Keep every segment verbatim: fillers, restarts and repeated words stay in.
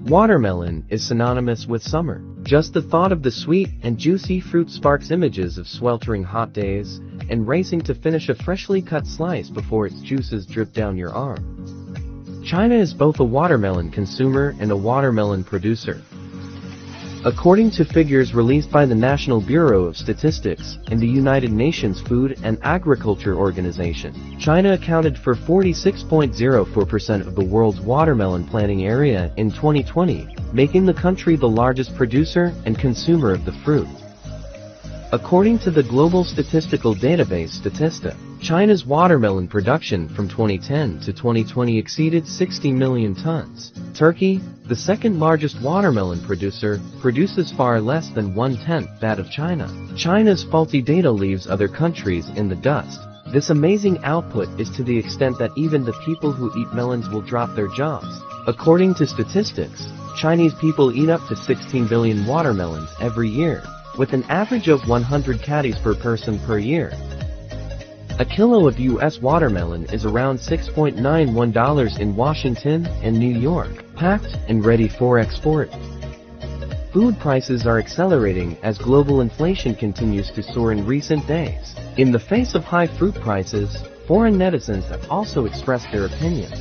Watermelon is synonymous with summer. Just the thought of the sweet and juicy fruit sparks images of sweltering hot days and racing to finish a freshly cut slice before its juices drip down your arm. China is both a watermelon consumer and a watermelon producer. According to figures released by the National Bureau of Statistics and the United Nations Food and Agriculture Organization, China accounted for forty-six point zero four percent of the world's watermelon planting area in twenty twenty, making the country the largest producer and consumer of the fruit. According to the global statistical database Statista, China's watermelon production from twenty ten to twenty twenty exceeded sixty million tons. Turkey, the second largest watermelon producer, produces far less than one-tenth that of China. China's faulty data leaves other countries in the dust. This amazing output is to the extent that even the people who eat melons will drop their jobs. According to statistics, Chinese people eat up to sixteen billion watermelons every year, with an average of one hundred caddies per person per year. A kilo of U S watermelon is around six point nine one dollars in Washington and New York, packed and ready for export. Food prices are accelerating as global inflation continues to soar in recent days. In the face of high fruit prices, foreign netizens have also expressed their opinions.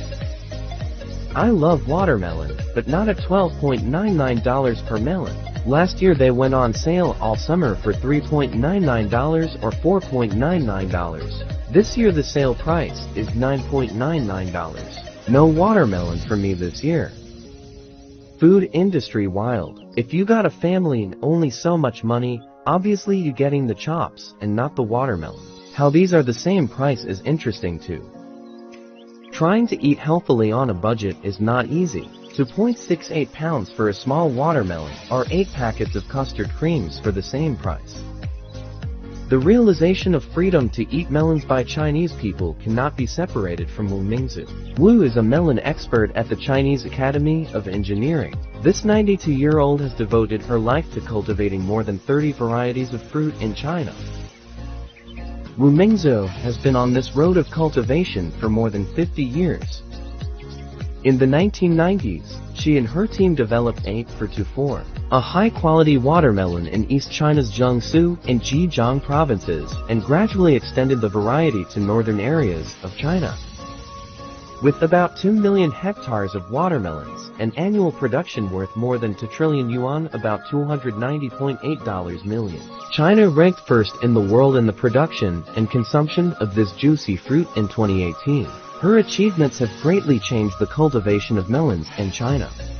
I love watermelon, but not at twelve point nine nine dollars per melon. Last year they went on sale all summer for three point nine nine dollars or four point nine nine dollars. This year the sale price is nine point nine nine dollars. No watermelon for me this year. Food industry wild. If you got a family and only so much money, obviously you getting the chops and not the watermelon. How these are the same price is interesting too. Trying to eat healthily on a budget is not easy. two point six eight pounds for a small watermelon, or eight packets of custard creams for the same price. The realization of freedom to eat melons by Chinese people cannot be separated from Wu Mingzhu. Wu is a melon expert at the Chinese Academy of Engineering. This ninety-two-year-old has devoted her life to cultivating more than thirty varieties of fruit in China. Wu Mingzhu has been on this road of cultivation for more than fifty years. In the nineteen nineties, she and her team developed eight four two four, a high-quality watermelon in East China's Jiangsu and Zhejiang provinces, and gradually extended the variety to northern areas of China. With about two million hectares of watermelons, an annual production worth more than two trillion yuan, about two hundred ninety point eight million dollars, China ranked first in the world in the production and consumption of this juicy fruit in twenty eighteen. Her achievements have greatly changed the cultivation of melons in China.